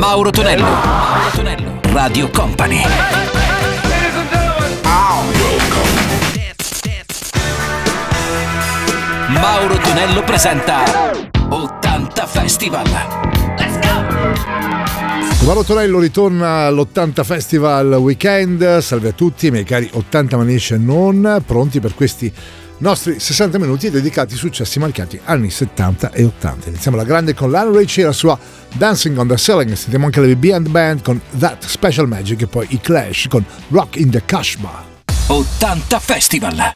Mauro Tonello. Mauro Tonello. Radio Company. Mauro Tonello presenta 80 Festival. Let's go! Mauro Tonello ritorna all'80 Festival Weekend. Salve a tutti, miei cari 80 manici e non, pronti per questi nostri 60 minuti dedicati ai successi marcati anni 70 e 80. Iniziamo la grande con Lionel Richie e la sua Dancing on the Ceiling. Sentiamo anche le BB Band con That Special Magic e poi i Clash con Rock in the Kashmir. 80 Festival.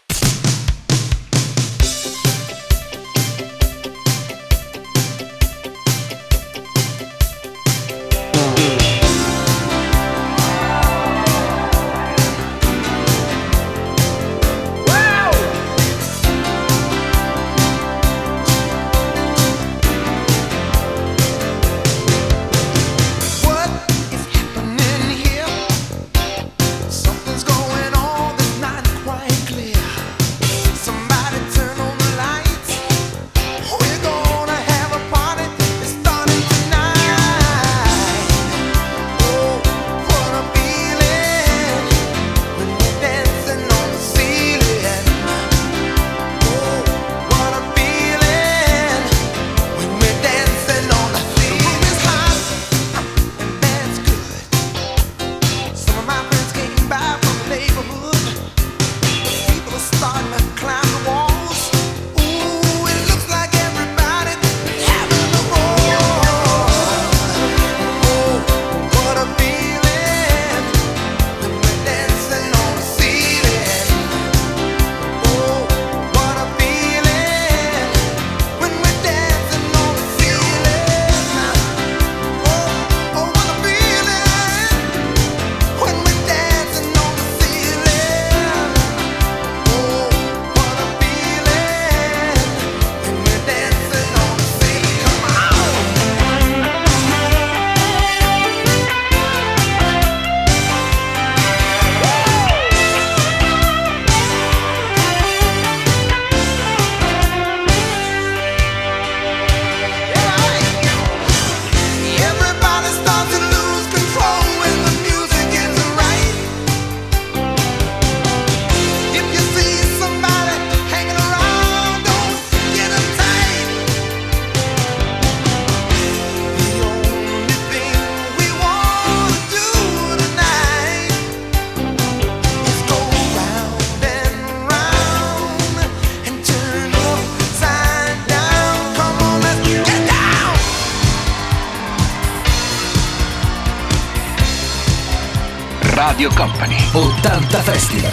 Radio Company 80 Festival.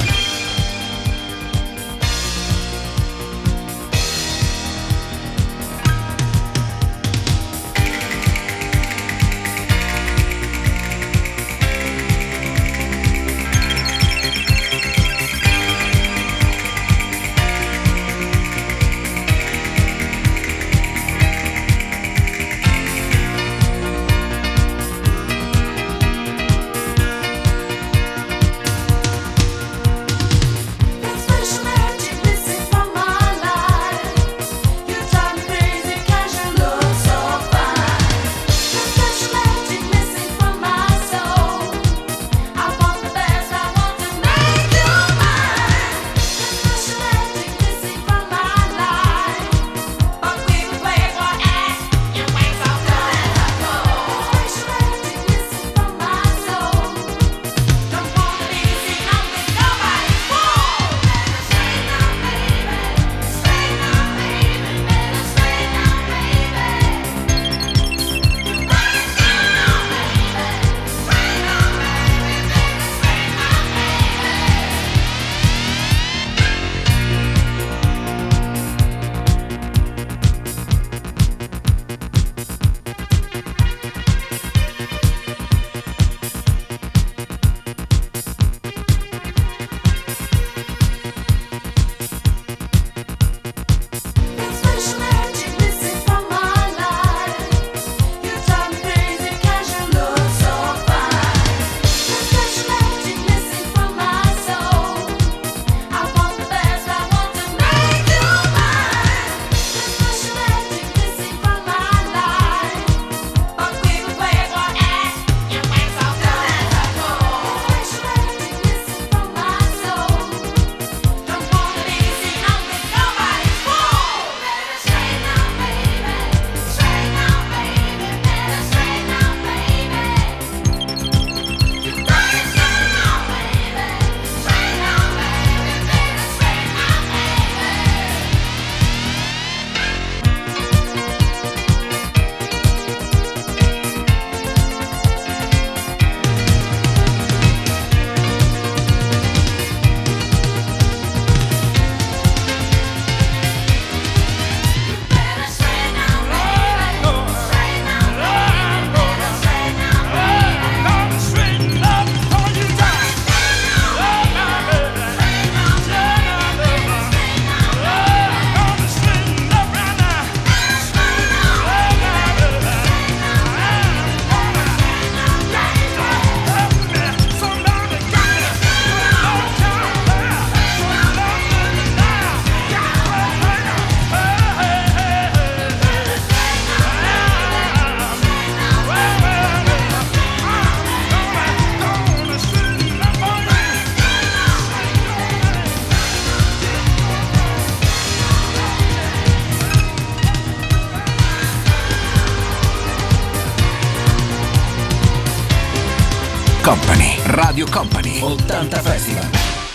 Company. Radio Company 80 Festival.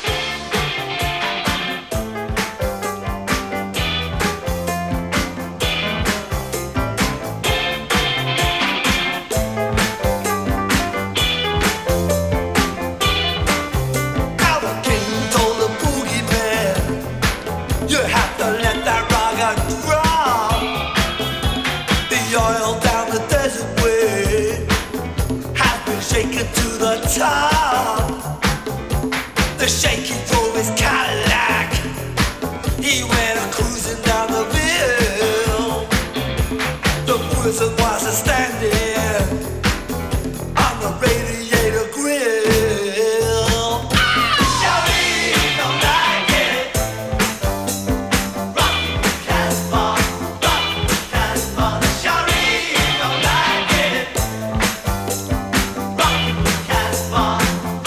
The shaky drove his Cadillac. He went cruising down the hill. The prison was standing on the radiator grill. Shelly don't like it. Rock Casbah, Shelly don't like it. Rock Casbah.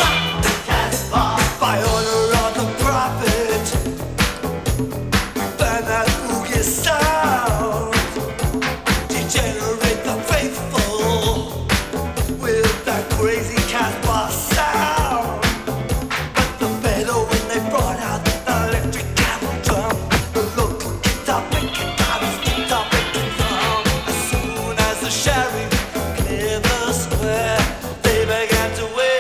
By order of the prophet, burn that boogie sound, degenerate the faithful with that crazy Casbah sound. But the better when they brought out the electric camel drum, the local guitar picking drums, guitar picking drum. As soon as the sheriff cleared the square, they began to wait.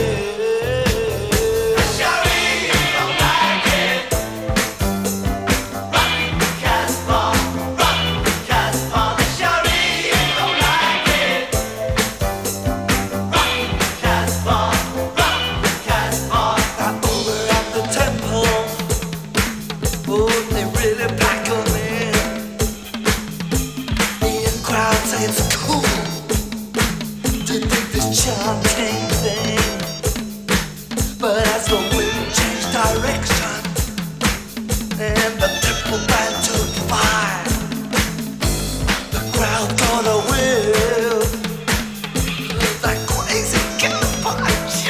Chanting thing, but as the wind changed direction and the temple began to fire, the crowd got a whiff of that crazy Casbah.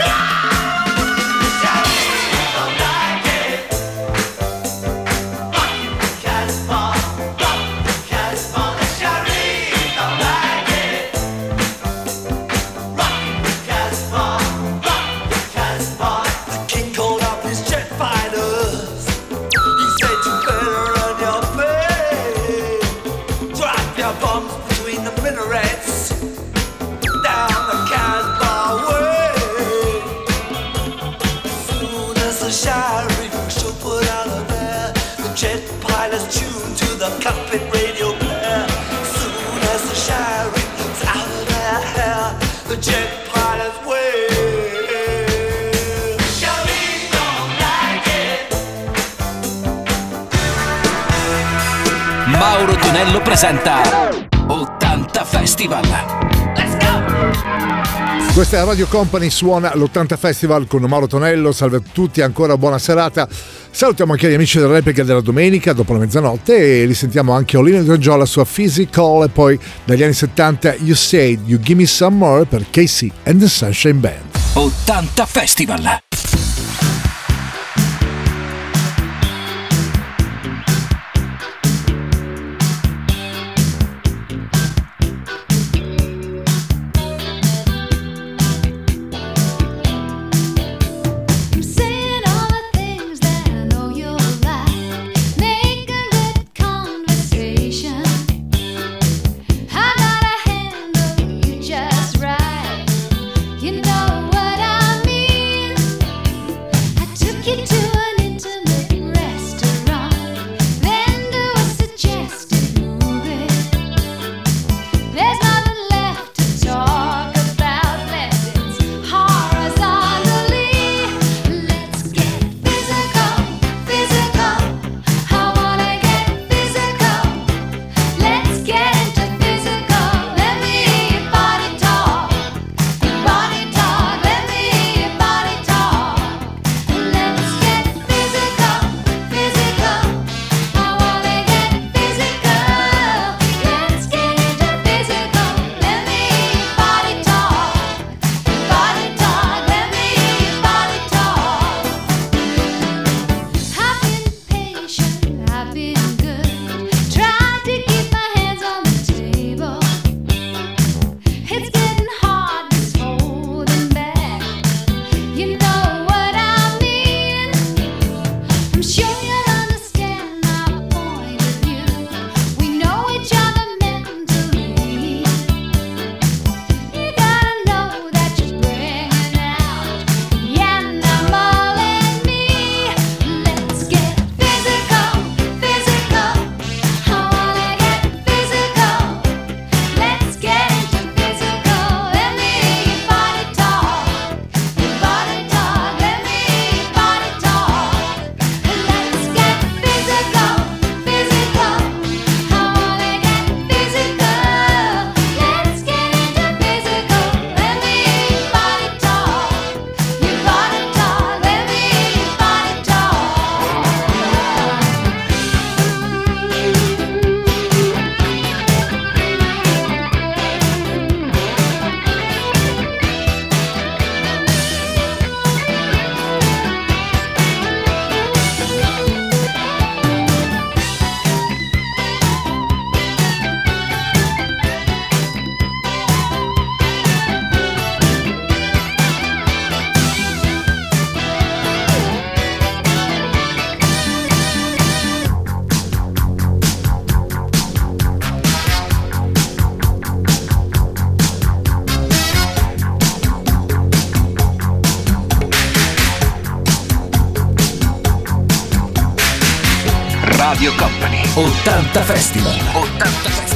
Don't like it. Rockin' Casbah, the Shari don't like it. The king called up his jet fighters. He said you better run your play. Drop your bombs between the minarets down the Casbah way. As soon as the sheriff should put out of there, the jet pilots tuned to the cockpit radio player. As soon as the sheriff's out of their hair, the jet pilots way. Mauro Tonello presenta 80 Festival. Let's go! Questa è Radio Company, suona l'80 Festival con Mauro Tonello. Salve a tutti, ancora buona serata. Salutiamo anche gli amici della replica della domenica dopo la mezzanotte e li sentiamo anche Olina di Giorgio alla sua Physical, e poi dagli anni 70 You Said You Give Me Some More per Casey and the Sunshine Band. 80 Festival. Just right, you know what I mean. Radio Company 80 Festival. 80 Festival.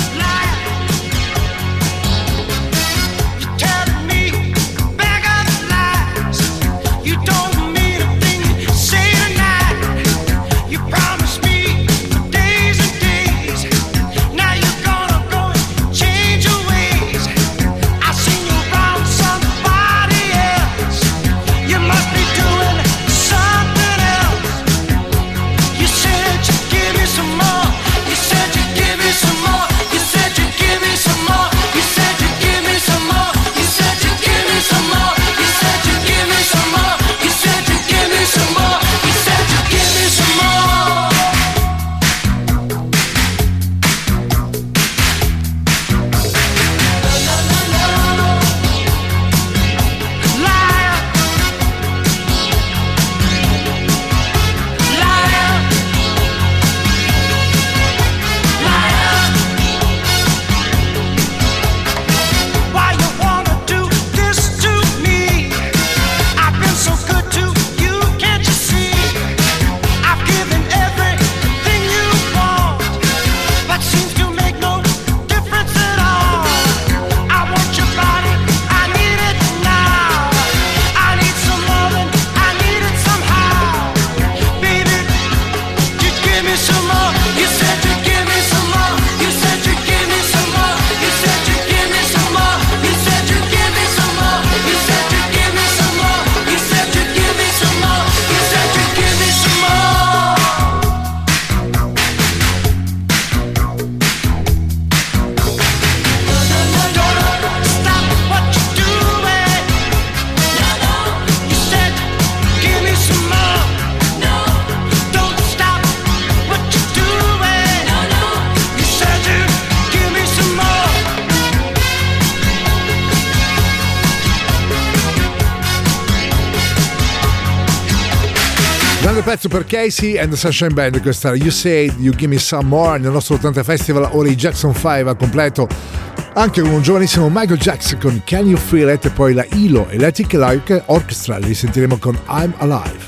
Pezzo per Casey and the Sunshine Band, questa You Said You Give Me Some More nel nostro 80 Festival. Ora i Jackson 5 al completo anche con un giovanissimo Michael Jackson con Can You Feel It, e poi la ILO Electric Light Orchestra li sentiremo con I'm Alive.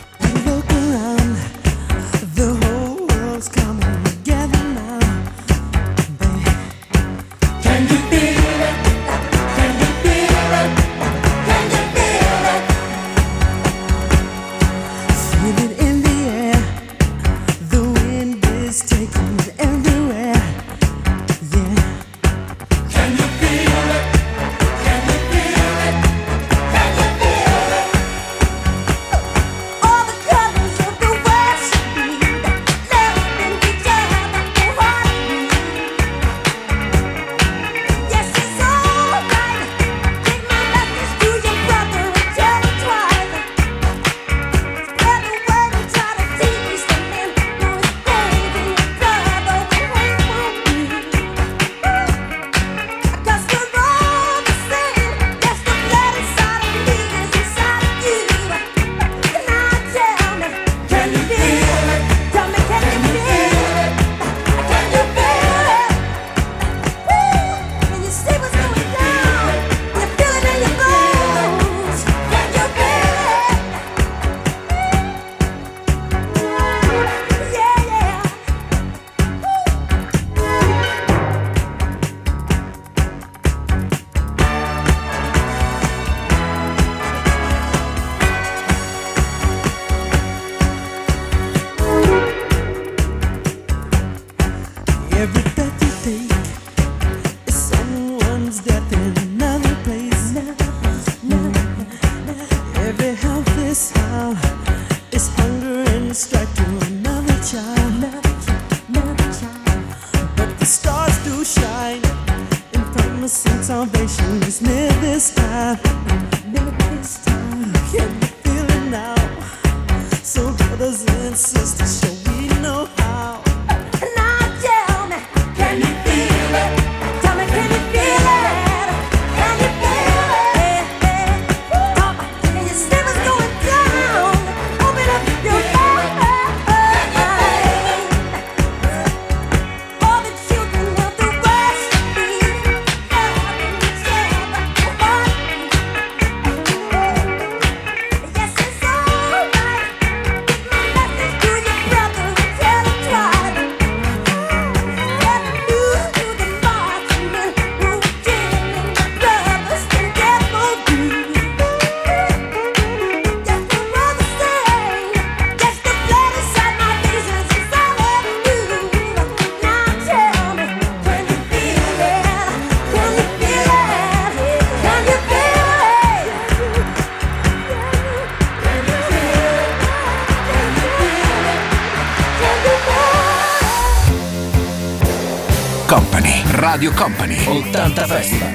Radio Company 80 Festival.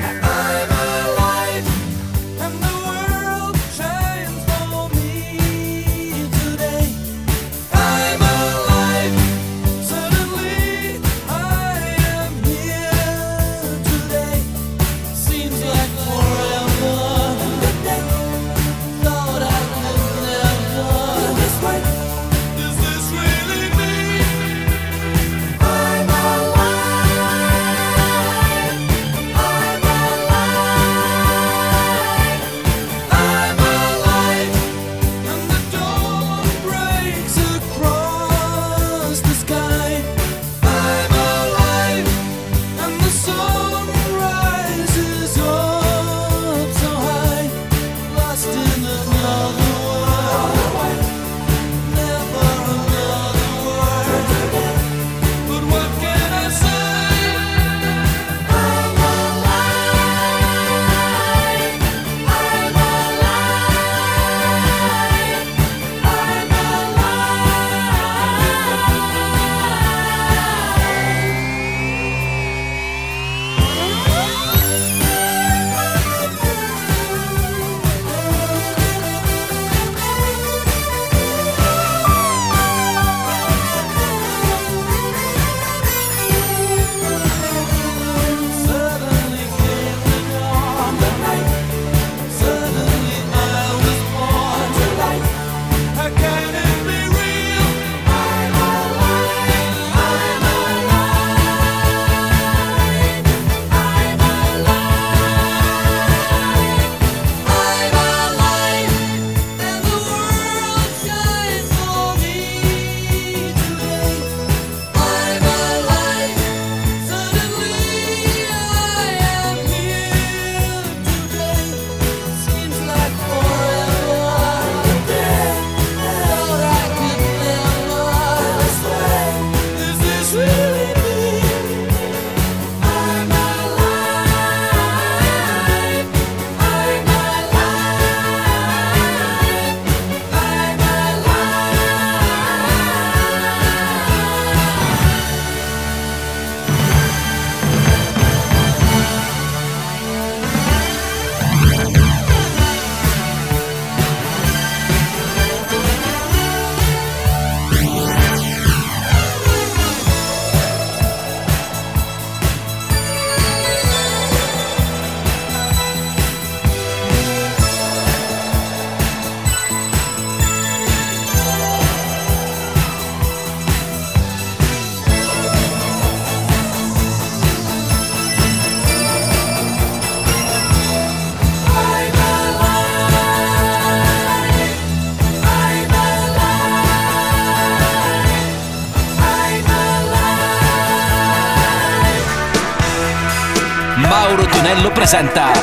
Mauro Tonello presenta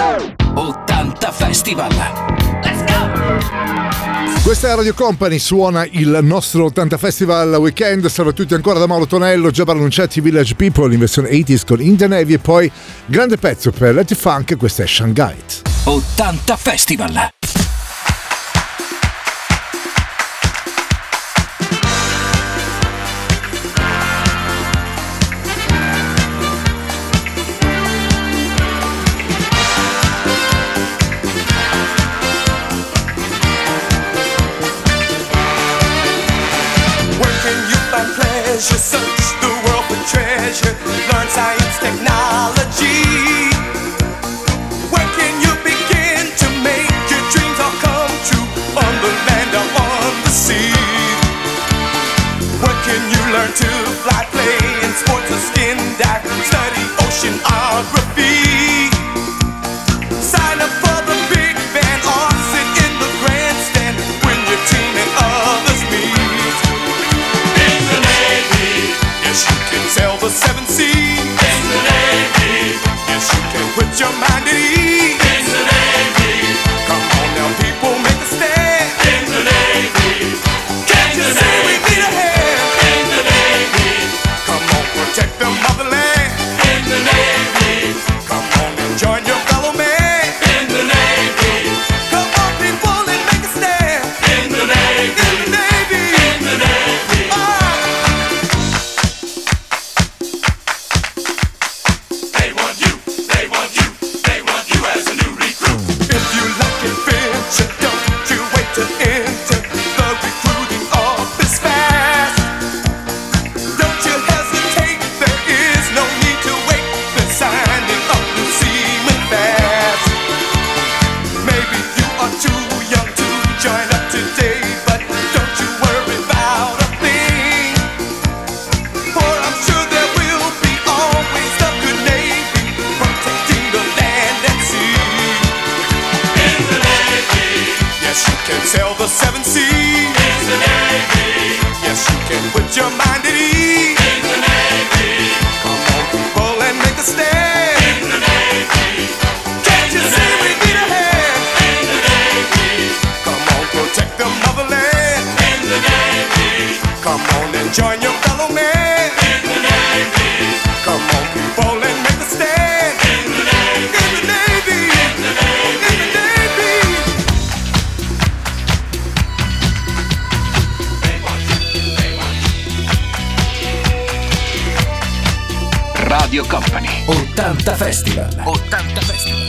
80 Festival. Let's go! Questa è Radio Company, suona il nostro 80 Festival Weekend. Salve a tutti ancora da Mauro Tonello, già pronunciati Village People in versione 80s con In The Navy e poi grande pezzo per Letty Funk, questa è Shanghai. 80 Festival. Search the world for treasure, learn science, technology. Where can you begin to make your the seven seas. It's the Navy. Yes, you can put your mind at ease. It's the Navy. Come on, people, and make a stand. It's the Navy. Can't you see we need a hand? In the Navy. Come on, protect the motherland. In the Navy. Come on and join your fellow man. In the Navy. Come on, people, and make a stand. In the Navy. In the Navy. In the Navy. In the Navy. Radio Company 80 Festival. 80 Festival.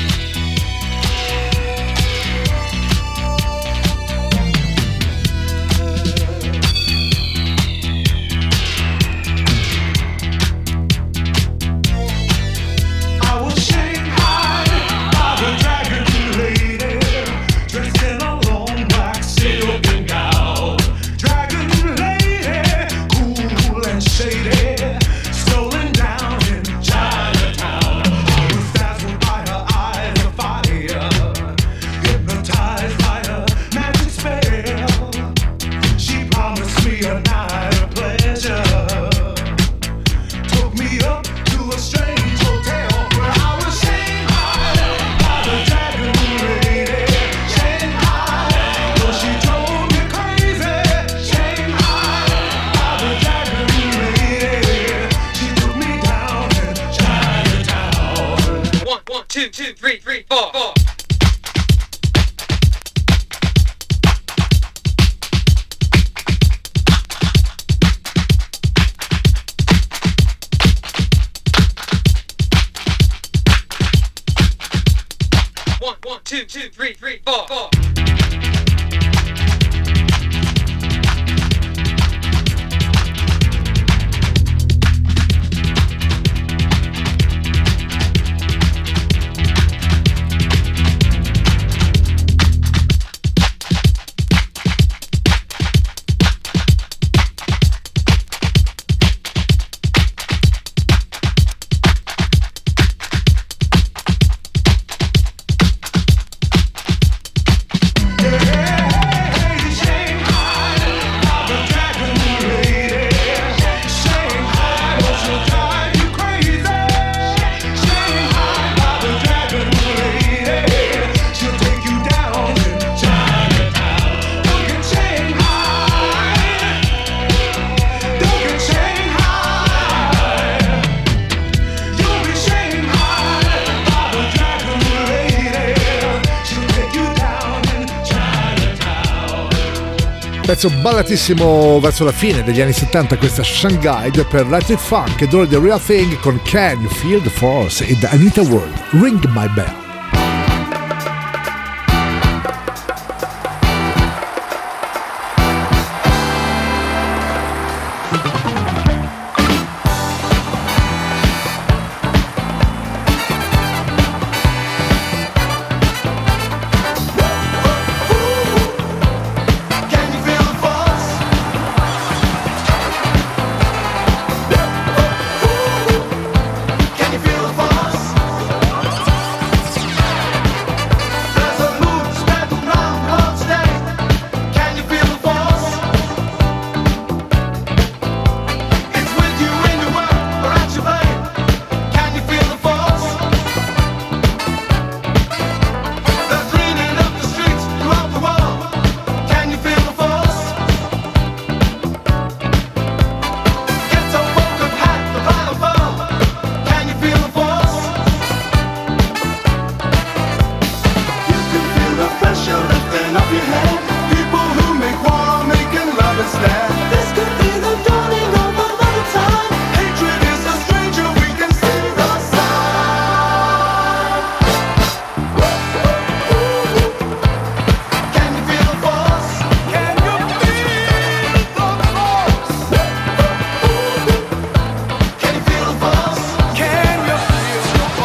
Pezzo ballatissimo verso la fine degli anni 70, questa Shanghai per Electric Funk ed ora The Real Thing con Can You Feel the Force ed Anita Ward, Ring My Bell.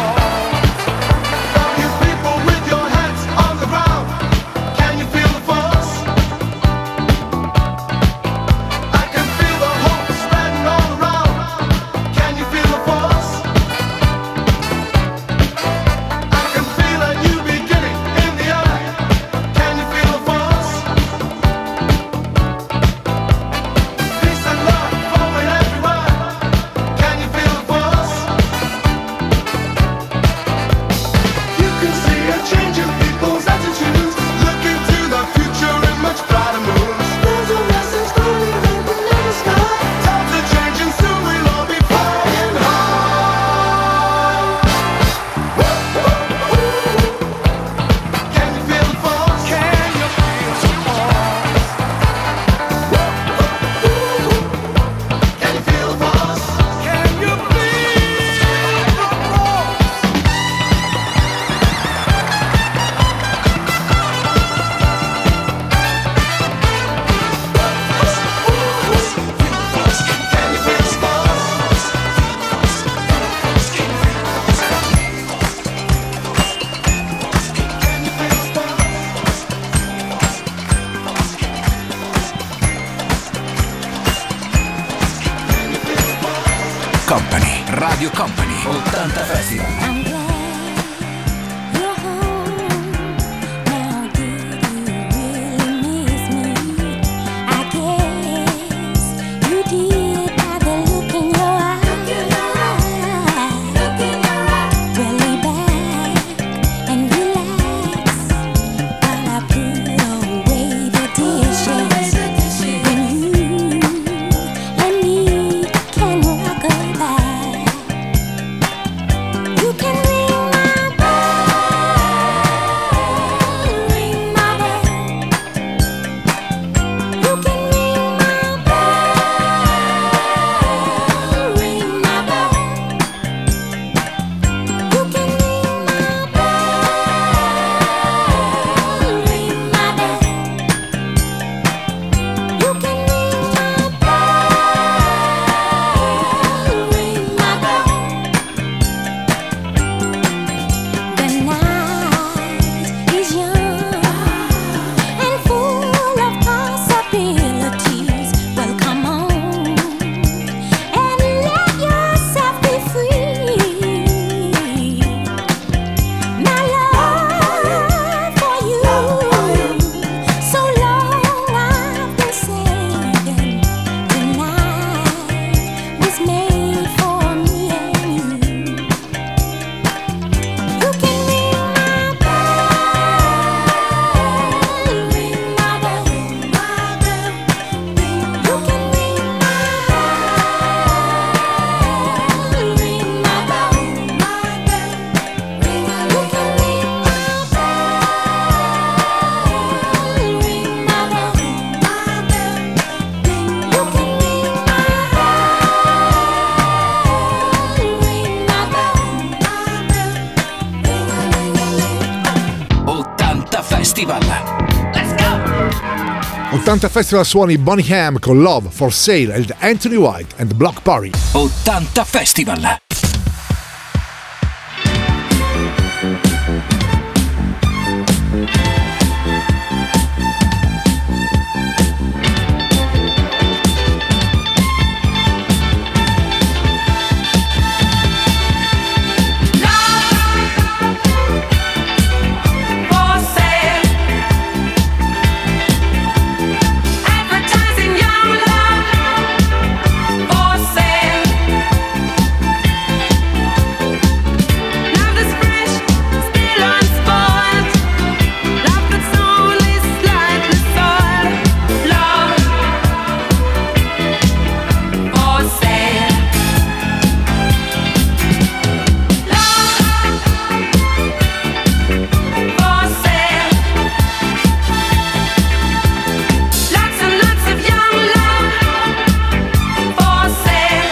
Can you feel the force? Radio Company 80 Festival. I'm glad you're home. Now do you really miss me? I guess you did by the look in your eye. Well, lay back and relax while I put away the dishes. When you and me can rock goodbye. You can ring my bell, ring my bell. You can ring my bell, ring my bell. You can ring my bell, ring my bell. You can ring my bell, ring my bell. The night is young and full of possibilities. Well, come on and let yourself be free. My love for you, so long I've been saving. Tonight was made for me and you. You can ring my bell, ring my bell, my bell. You can ring my bell, ring my bell, my bell. You can ring my bell, ring my bell, my bell. You can ring my bell, ring my bell, my bell. 80 Festival. Let's go! 80 Festival suoni Bonnie M con Love for Sale ed Anthony White and Block Party. 80 Festival. For sale, advertising young love. For sale, love that's fresh, still unspoiled. Love that's only slightly soiled. Love for sale. For sale, lots and lots of young love. For sale.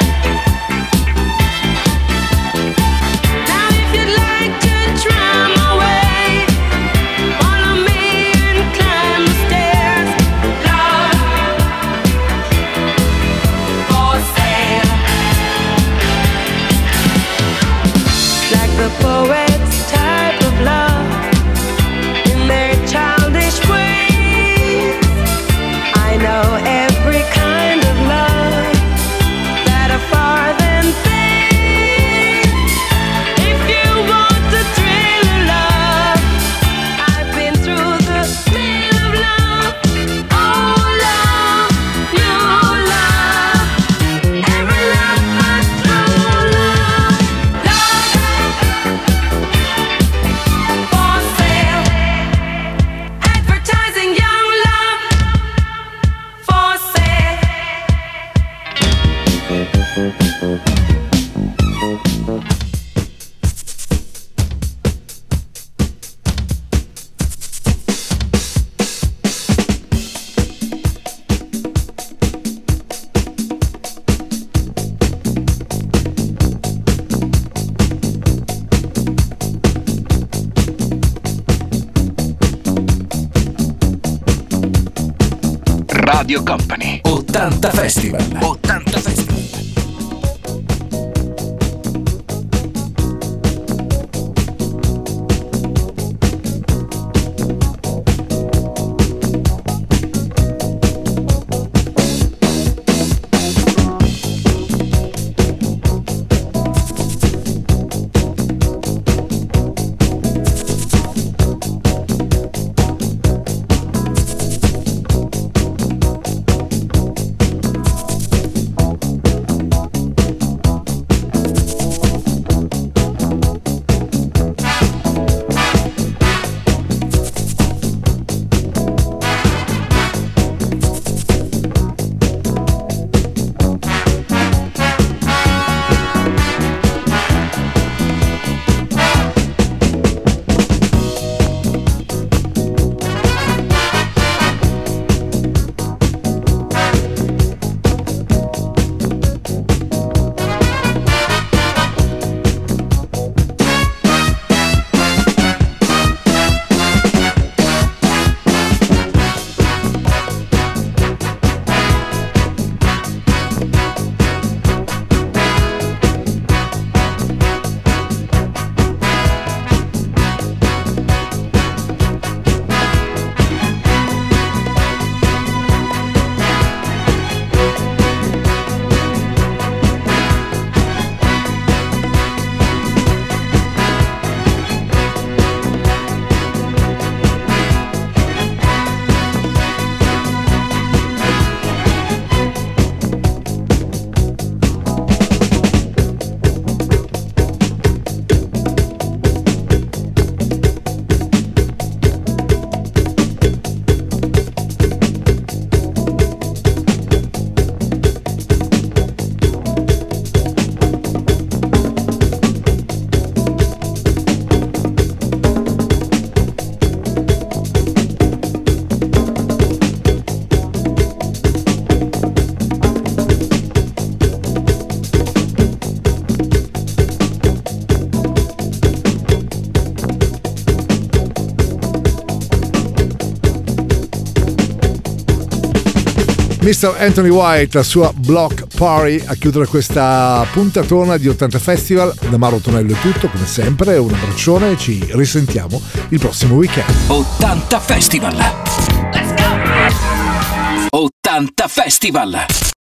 Now if you'd like to try my way, follow me and climb the stairs. Love for sale. Like the poet's type of love, in their childish ways. I know every kind of love that are far than fame. If you want the thrill of love, I've been through the thrill of love. Oh, love, new love, every love but true love. Love for sale, advertising young love. For sale. Radio Company 80 Festival. 80 Festival. Mr. Anthony White, la sua Block Party, a chiudere questa puntatona di 80 Festival. Da Mauro Tonello è tutto, come sempre, un abbraccione e ci risentiamo il prossimo weekend. 80 Festival. Let's go! 80 Festival.